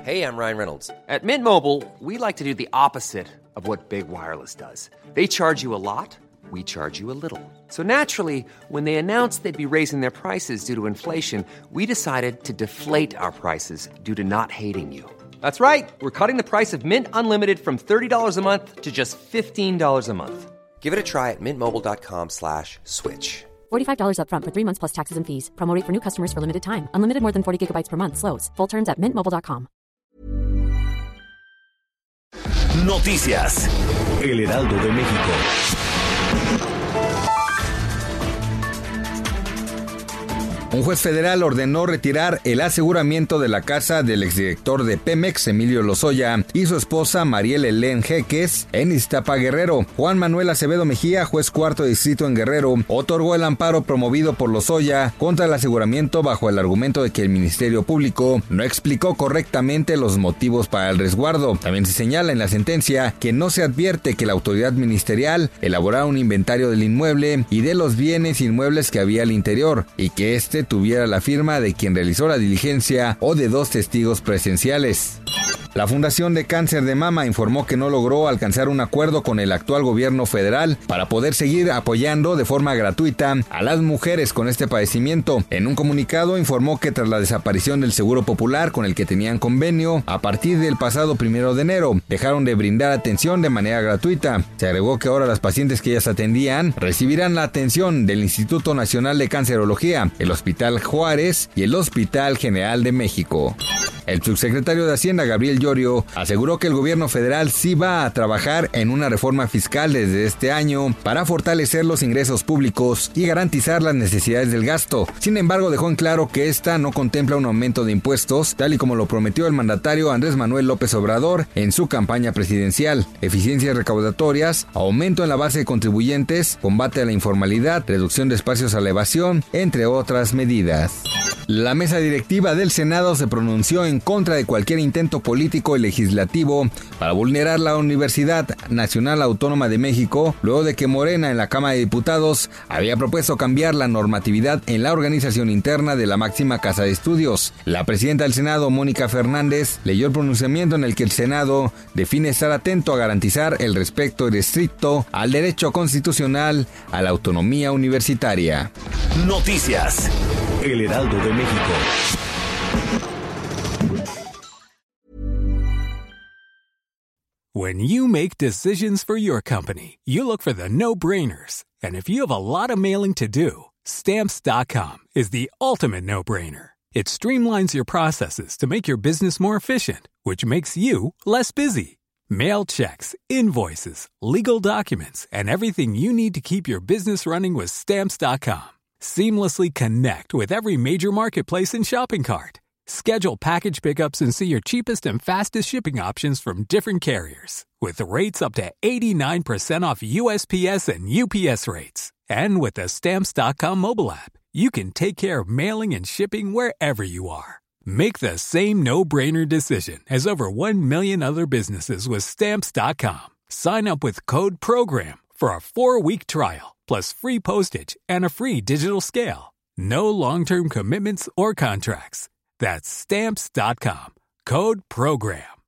Hey, I'm Ryan Reynolds. At Mint Mobile, we like to do the opposite of what Big Wireless does. They charge you a lot, we charge you a little. So naturally, when they announced they'd be raising their prices due to inflation, we decided to deflate our prices due to not hating you. That's right. We're cutting the price of Mint Unlimited from $30 a month to just $15 a month. Give it a try at mintmobile.com/switch. $45 up front for 3 months plus taxes and fees. Promo rate for new customers for limited time. Unlimited more than 40 gigabytes per month. Slows full terms at mintmobile.com. Noticias. El Heraldo de México. Un juez federal ordenó retirar el aseguramiento de la casa del exdirector de Pemex, Emilio Lozoya, y su esposa Mariel Helen Jeques en Iztapa, Guerrero. Juan Manuel Acevedo Mejía, juez cuarto distrito en Guerrero, otorgó el amparo promovido por Lozoya contra el aseguramiento bajo el argumento de que el Ministerio Público no explicó correctamente los motivos para el resguardo. También se señala en la sentencia que no se advierte que la autoridad ministerial elaborara un inventario del inmueble y de los bienes inmuebles que había al interior, y que tuviera la firma de quien realizó la diligencia o de 2 testigos presenciales. La Fundación de Cáncer de Mama informó que no logró alcanzar un acuerdo con el actual gobierno federal para poder seguir apoyando de forma gratuita a las mujeres con este padecimiento. En un comunicado informó que tras la desaparición del Seguro Popular con el que tenían convenio, a partir del pasado 1 de enero, dejaron de brindar atención de manera gratuita. Se agregó que ahora las pacientes que ellas atendían recibirán la atención del Instituto Nacional de Cancerología, el Hospital Juárez y el Hospital General de México. El subsecretario de Hacienda, Gabriel Llorio, aseguró que el gobierno federal sí va a trabajar en una reforma fiscal desde este año para fortalecer los ingresos públicos y garantizar las necesidades del gasto. Sin embargo, dejó en claro que esta no contempla un aumento de impuestos, tal y como lo prometió el mandatario Andrés Manuel López Obrador en su campaña presidencial. Eficiencias recaudatorias, aumento en la base de contribuyentes, combate a la informalidad, reducción de espacios a la evasión, entre otras medidas. La mesa directiva del Senado se pronunció en contra de cualquier intento político y legislativo para vulnerar la Universidad Nacional Autónoma de México, luego de que Morena en la Cámara de Diputados había propuesto cambiar la normatividad en la organización interna de la máxima casa de estudios. La presidenta del Senado, Mónica Fernández, leyó el pronunciamiento en el que el Senado define estar atento a garantizar el respeto irrestricto al derecho constitucional a la autonomía universitaria. Noticias. El Heraldo de México. When you make decisions for your company, you look for the no-brainers. And if you have a lot of mailing to do, Stamps.com is the ultimate no-brainer. It streamlines your processes to make your business more efficient, which makes you less busy. Mail checks, invoices, legal documents, and everything you need to keep your business running with Stamps.com. Seamlessly connect with every major marketplace and shopping cart. Schedule package pickups and see your cheapest and fastest shipping options from different carriers, with rates up to 89% off USPS and UPS rates. And with the Stamps.com mobile app, you can take care of mailing and shipping wherever you are. Make the same no-brainer decision as over 1 million other businesses with Stamps.com. Sign up with code PROGRAM for a 4-week trial, plus free postage and a free digital scale. No long-term commitments or contracts. That's Stamps.com. Code PROGRAM.